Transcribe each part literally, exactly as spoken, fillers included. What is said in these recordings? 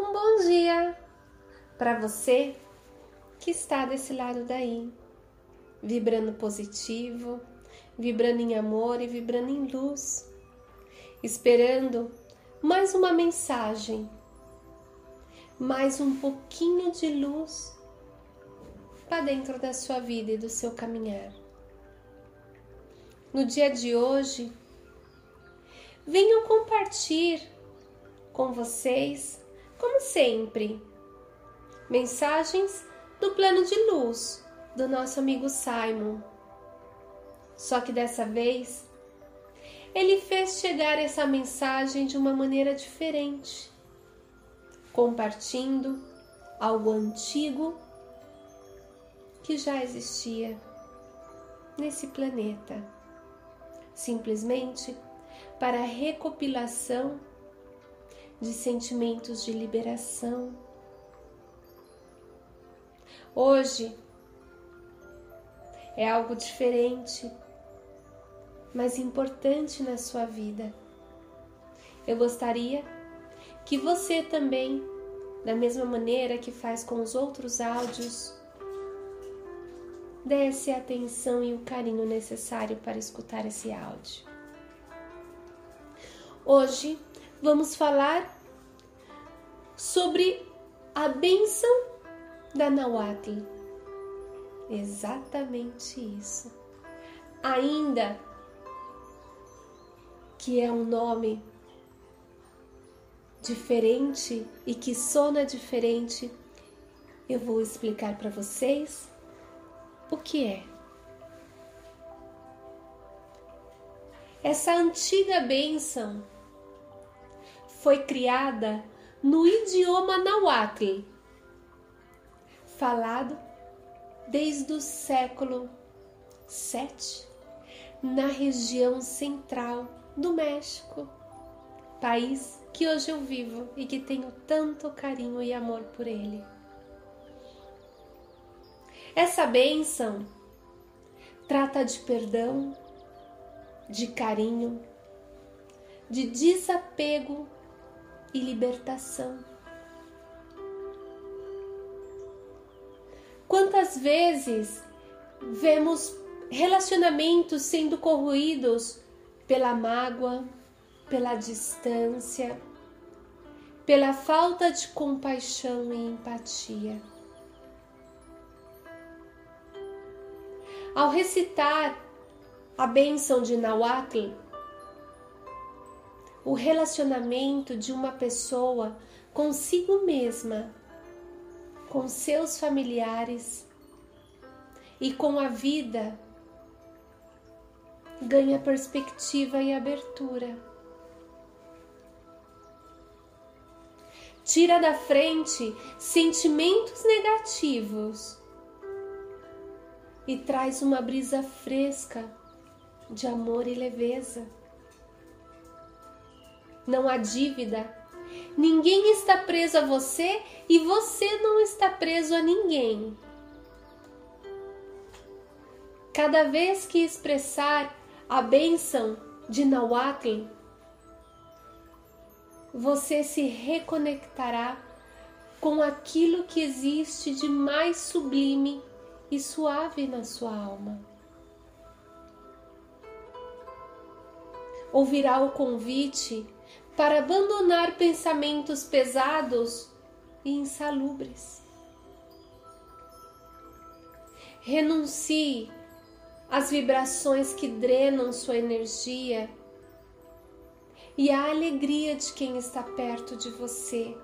Um bom dia para você que está desse lado daí, vibrando positivo, vibrando em amor e vibrando em luz, esperando mais uma mensagem, mais um pouquinho de luz para dentro da sua vida e do seu caminhar. No dia de hoje, venho compartilhar com vocês, como sempre, mensagens do plano de luz do nosso amigo Simon. Só que dessa vez, ele fez chegar essa mensagem de uma maneira diferente, compartilhando algo antigo que já existia nesse planeta, simplesmente para a recopilação de sentimentos de liberação. Hoje é algo diferente, mas importante na sua vida. Eu gostaria que você também, da mesma maneira que faz com os outros áudios, desse a atenção e o carinho necessário para escutar esse áudio. Hoje vamos falar sobre a bênção da Nahuatl. Exatamente isso. Ainda que é um nome diferente e que sona diferente, eu vou explicar para vocês o que é. Essa antiga bênção foi criada no idioma Nahuatl, falado desde o século sete, na região central do México, país que hoje eu vivo e que tenho tanto carinho e amor por ele. Essa bênção trata de perdão, de carinho, de desapego e libertação. Quantas vezes vemos relacionamentos sendo corroídos pela mágoa, pela distância, pela falta de compaixão e empatia. Ao recitar a bênção de Nahuatl, o relacionamento de uma pessoa consigo mesma, com seus familiares e com a vida ganha perspectiva e abertura. Tira da frente sentimentos negativos e traz uma brisa fresca de amor e leveza. Não há dívida, ninguém está preso a você e você não está preso a ninguém. Cada vez que expressar a bênção de Nahuatl, você se reconectará com aquilo que existe de mais sublime e suave na sua alma. Ouvirá o convite para abandonar pensamentos pesados e insalubres. Renuncie às vibrações que drenam sua energia e à alegria de quem está perto de você.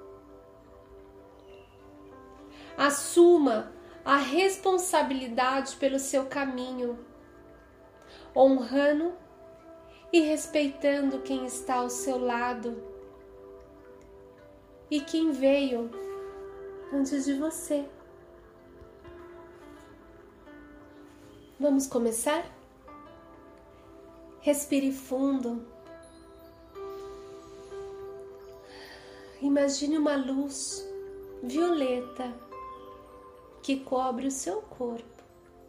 Assuma a responsabilidade pelo seu caminho, honrando e respeitando quem está ao seu lado e quem veio antes de você. Vamos começar? Respire fundo. Imagine uma luz violeta que cobre o seu corpo.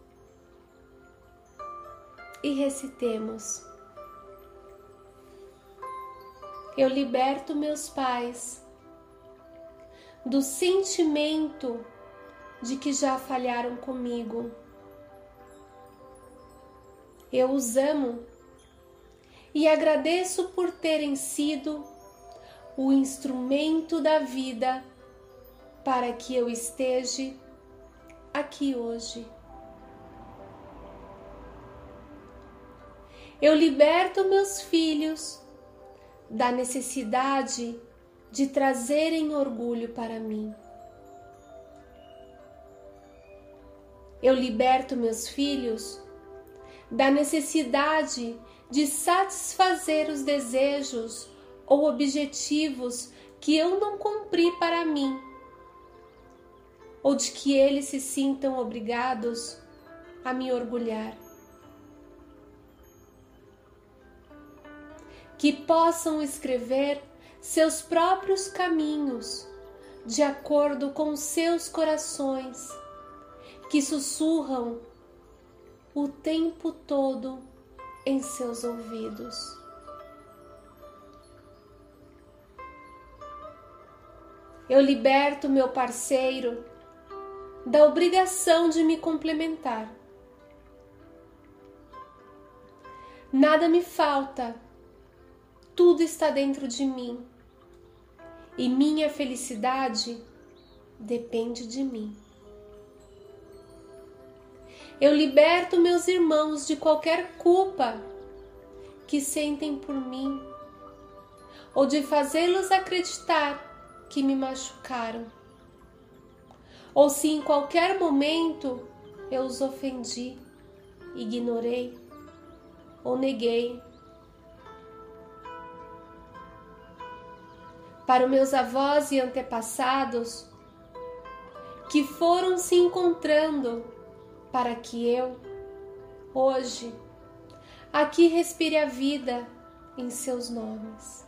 E recitemos: eu liberto meus pais do sentimento de que já falharam comigo. Eu os amo e agradeço por terem sido o instrumento da vida para que eu esteja aqui hoje. Eu liberto meus filhos da necessidade de trazerem orgulho para mim. Eu liberto meus filhos da necessidade de satisfazer os desejos ou objetivos que eu não cumpri para mim, ou de que eles se sintam obrigados a me orgulhar. Que possam escrever seus próprios caminhos de acordo com seus corações, que sussurram o tempo todo em seus ouvidos. Eu liberto meu parceiro da obrigação de me complementar. Nada me falta, tudo está dentro de mim e minha felicidade depende de mim. Eu liberto meus irmãos de qualquer culpa que sentem por mim ou de fazê-los acreditar que me machucaram, ou se em qualquer momento eu os ofendi, ignorei ou neguei. Para os meus avós e antepassados que foram se encontrando para que eu, hoje, aqui respire a vida em seus nomes.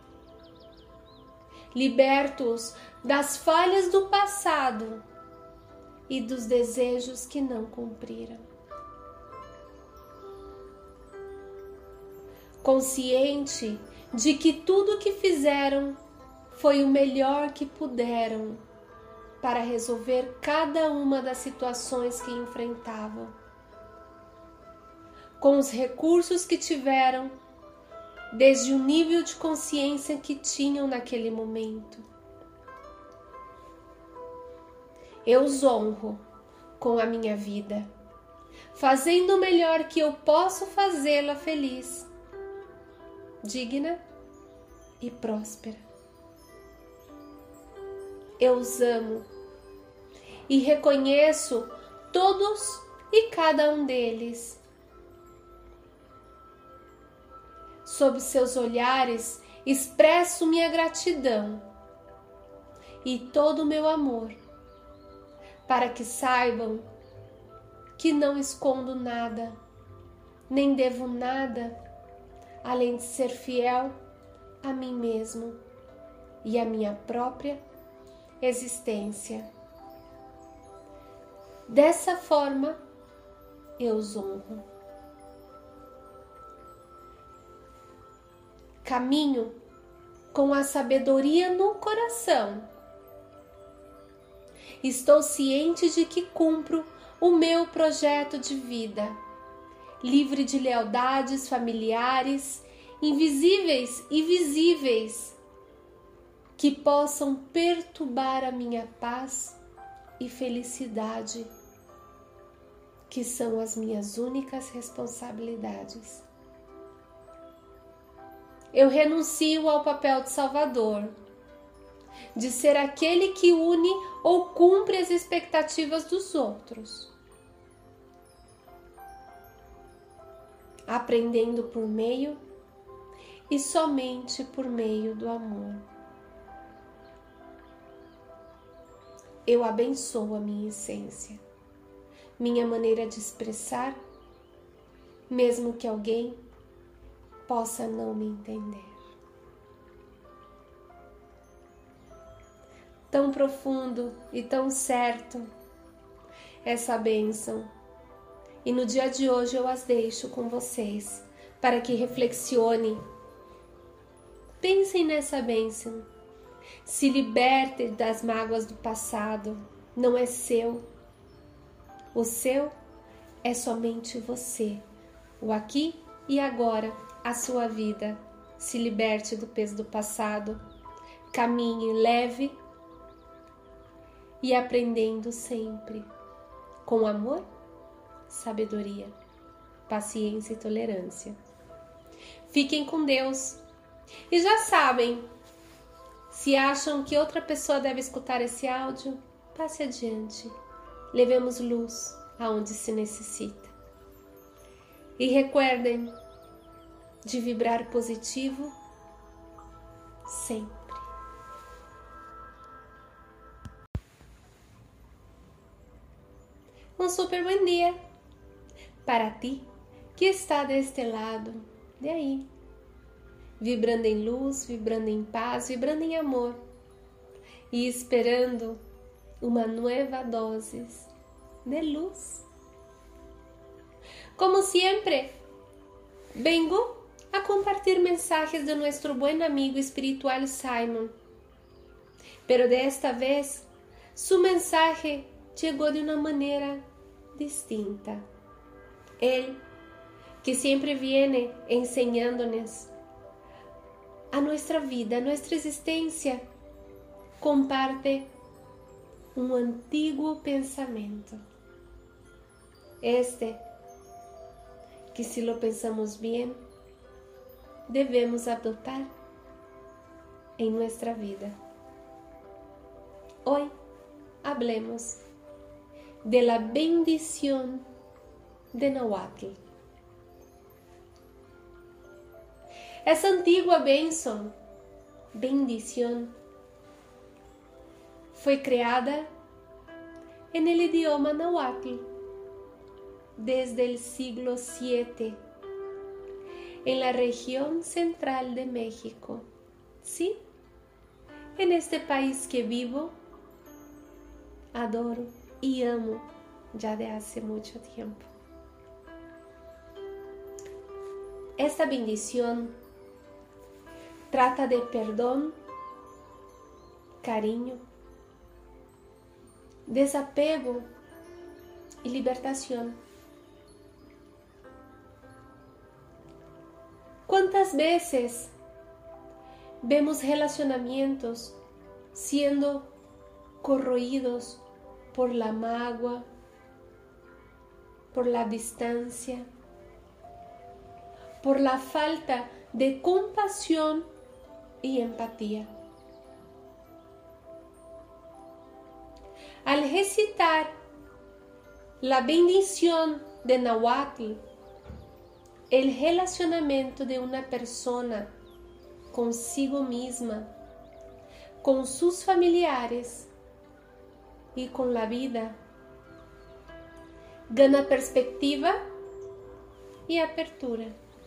Liberto-os das falhas do passado e dos desejos que não cumpriram. Consciente de que tudo o que fizeram foi o melhor que puderam para resolver cada uma das situações que enfrentavam, com os recursos que tiveram, desde o nível de consciência que tinham naquele momento. Eu os honro com a minha vida, fazendo o melhor que eu posso fazê-la feliz, digna e próspera. Eu os amo e reconheço todos e cada um deles. Sob seus olhares, expresso minha gratidão e todo o meu amor, para que saibam que não escondo nada, nem devo nada, além de ser fiel a mim mesmo e a minha própria existência. Dessa forma, eu os honro. Caminho com a sabedoria no coração. Estou ciente de que cumpro o meu projeto de vida, livre de lealdades familiares, invisíveis e visíveis, que possam perturbar a minha paz e felicidade, que são as minhas únicas responsabilidades. Eu renuncio ao papel de salvador, de ser aquele que une ou cumpre as expectativas dos outros, aprendendo por meio e somente por meio do amor. Eu abençoo a minha essência, minha maneira de expressar, mesmo que alguém possa não me entender. Tão profundo e tão certo essa bênção. E no dia de hoje eu as deixo com vocês, para que reflexionem. Pensem nessa bênção. Se liberte das mágoas do passado. Não é seu. O seu é somente você. O aqui e agora, a sua vida. Se liberte do peso do passado. Caminhe leve e aprendendo sempre. Com amor, sabedoria, paciência e tolerância. Fiquem com Deus. E já sabem, se acham que outra pessoa deve escutar esse áudio, passe adiante. Levemos luz aonde se necessita. E recuerdem de vibrar positivo sempre. Um super bom dia para ti que está deste lado, de aí, vibrando em luz, vibrando em paz, vibrando em amor e esperando uma nova dose de luz. Como sempre, vengo a compartir mensajes de nuestro buen amigo espiritual Simon, pero desta vez su mensaje llegó de una manera distinta. Él, que siempre viene enseñándonos a nuestra vida, a nuestra existencia, comparte un antiguo pensamiento. Este, que si lo pensamos bien, debemos adoptar en nuestra vida. Hoy hablemos de la bendición de Nahuatl. Essa antiga bênção, bendición, foi criada en el idioma Nahuatl desde el siglo siete en la región central de México. Sí, en este país que vivo, adoro y amo ya de hace mucho tiempo. Esta bendición trata de perdón, cariño, desapego y libertación. ¿Cuántas veces vemos relacionamientos siendo corroídos por la mágoa, por la distancia, por la falta de compasión y empatía? Al recitar la bendición de Nahuatl, el relacionamiento de una persona consigo misma, con sus familiares y con la vida, gana perspectiva y apertura.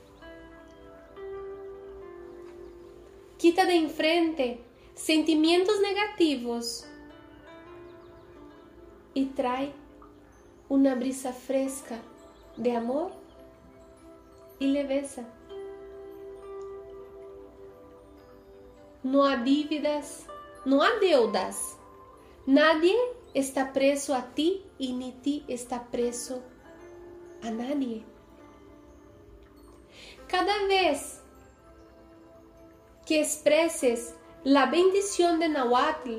Quita de enfrente sentimientos negativos y trae una brisa fresca de amor y leveza. No há dívidas, no há deudas. Nadie está preso a ti y ni ti está preso a nadie. Cada vez que expreses la bendición de Nahuatl,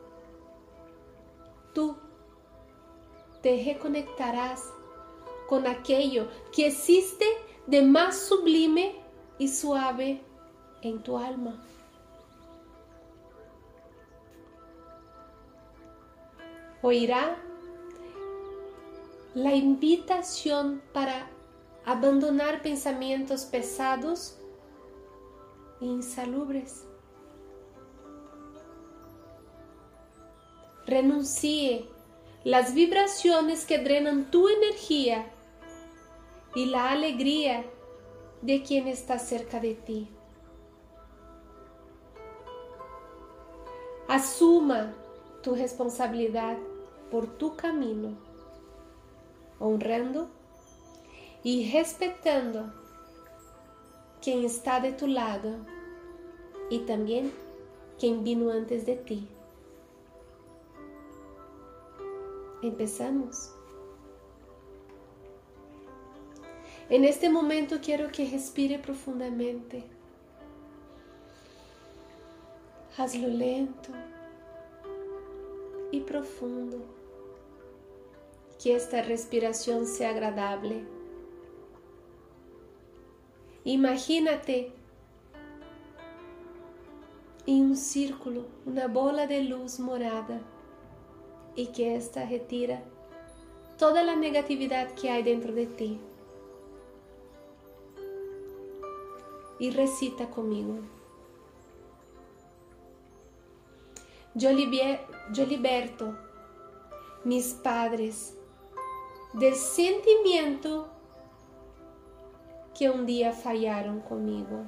tú te reconectarás con aquello que existe de más sublime y suave en tu alma. Oirá la invitación para abandonar pensamientos pesados e insalubres. Renuncie las vibraciones que drenan tu energía y la alegría de quien está cerca de ti. Asuma tu responsabilidad por tu camino, honrando y respetando quien está de tu lado y también quien vino antes de ti. Empezamos. En este momento quiero que respire profundamente. Hazlo lento y profundo. Que esta respiración sea agradable. Imagínate en un círculo, una bola de luz morada, y que esta retira toda la negatividad que hay dentro de ti. Y recita conmigo. Yo, liber, yo liberto mis padres del sentimiento que un día fallaron conmigo.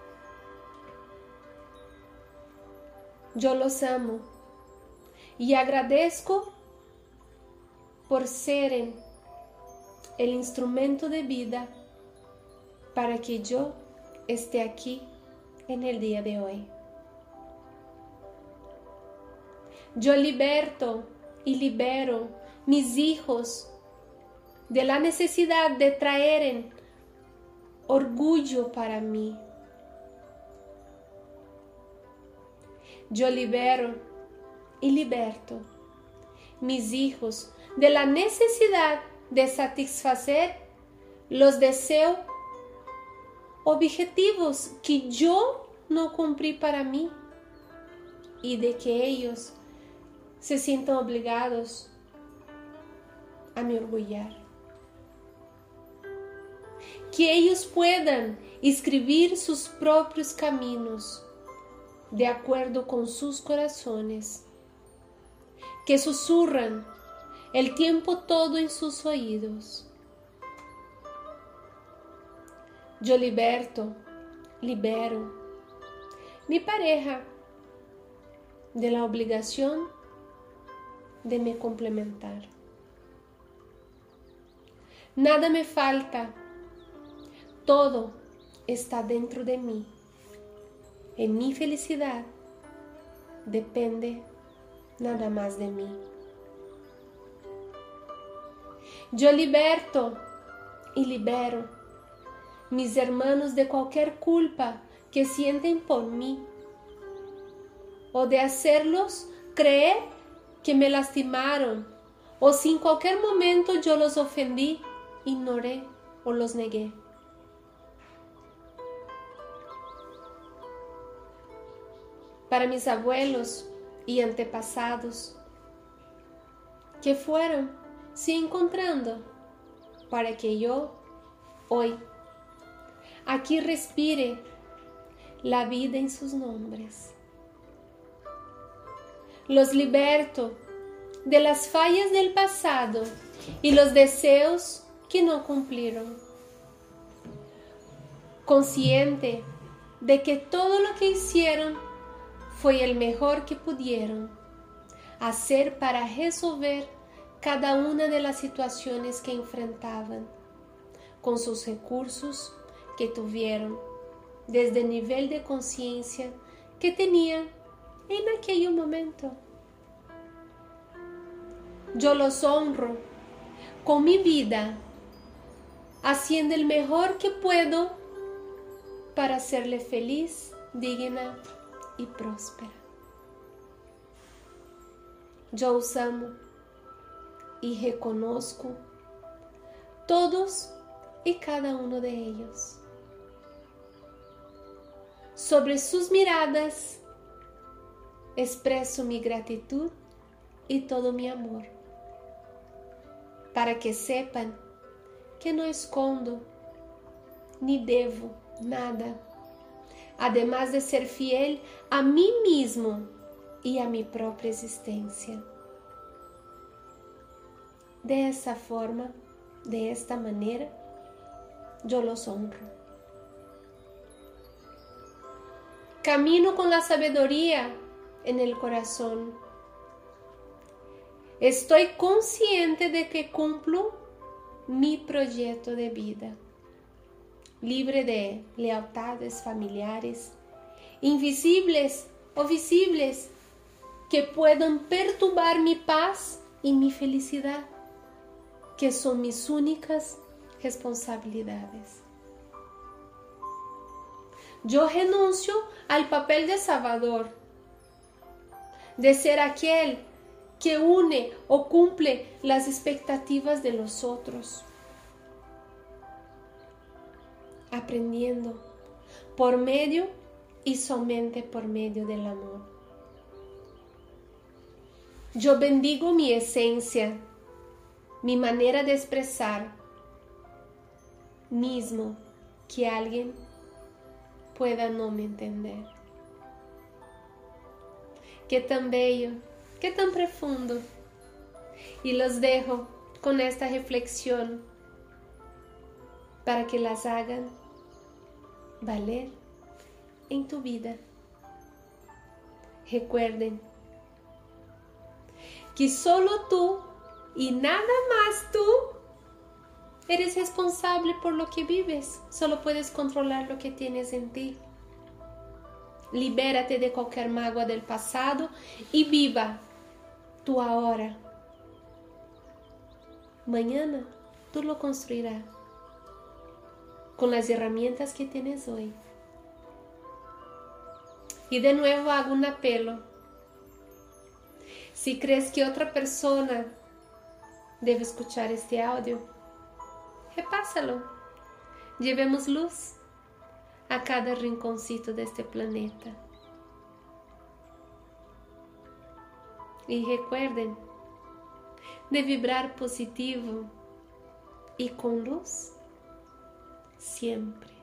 Yo los amo y agradezco por ser el instrumento de vida para que yo esté aquí en el día de hoy. Yo liberto y libero mis hijos de la necesidad de traer orgullo para mí. Yo libero y liberto mis hijos de la necesidad de satisfacer los deseos objetivos que yo no cumplí para mí y de que ellos se sientan obligados a me orgullar. Que ellos puedan escribir sus propios caminos de acuerdo con sus corazones, que susurran el tiempo todo en sus oídos. Yo liberto, libero mi pareja de la obligación de me complementar. Nada me falta, todo está dentro de mí. En mi felicidad depende nada más de mí. Yo liberto y libero mis hermanos de cualquier culpa que sienten por mí o de hacerlos creer que me lastimaron o si en cualquier momento yo los ofendí, ignoré o los negué. Para mis abuelos y antepasados que fueron se encontrando para que yo hoy aquí respire la vida en sus nombres. Los liberto de las fallas del pasado y los deseos que no cumplieron. Consciente de que todo lo que hicieron fue el mejor que pudieron hacer para resolver cada una de las situaciones que enfrentaban, con sus recursos que tuvieron, desde el nivel de conciencia que tenían en aquel momento. Yo los honro con mi vida, haciendo el mejor que puedo para hacerle feliz, digna y próspera. Yo os amo y reconozco todos y cada uno de ellos. Sobre sus miradas expreso mi gratitud y todo mi amor, para que sepan que no escondo ni debo nada, además de ser fiel a mí mismo y a mi propia existencia. De esa forma, de esta manera, yo los honro. Camino con la sabiduría en el corazón. Estoy consciente de que cumplo mi proyecto de vida, libre de lealtades familiares, invisibles o visibles que puedan perturbar mi paz y mi felicidad, que son mis únicas responsabilidades. Yo renuncio al papel de salvador, de ser aquel que une o cumple las expectativas de los otros, aprendiendo por medio y somente por medio del amor. Yo bendigo mi esencia, mi manera de expresar, mismo que alguien pueda no me entender. Qué tan bello, qué tan profundo. Y los dejo con esta reflexión para que las hagan valer en tu vida. Recuerden que solo tú y nada más tú eres responsable por lo que vives. Solo puedes controlar lo que tienes en ti. Libérate de cualquier mágoa del pasado y viva tu ahora. Mañana tú lo construirás con las herramientas que tienes hoy. Y de nuevo hago un apelo. Si crees que otra persona debe escuchar este audio, repásalo. Llevemos luz a cada rinconcito de este planeta. Y recuerden de vibrar positivo y con luz siempre.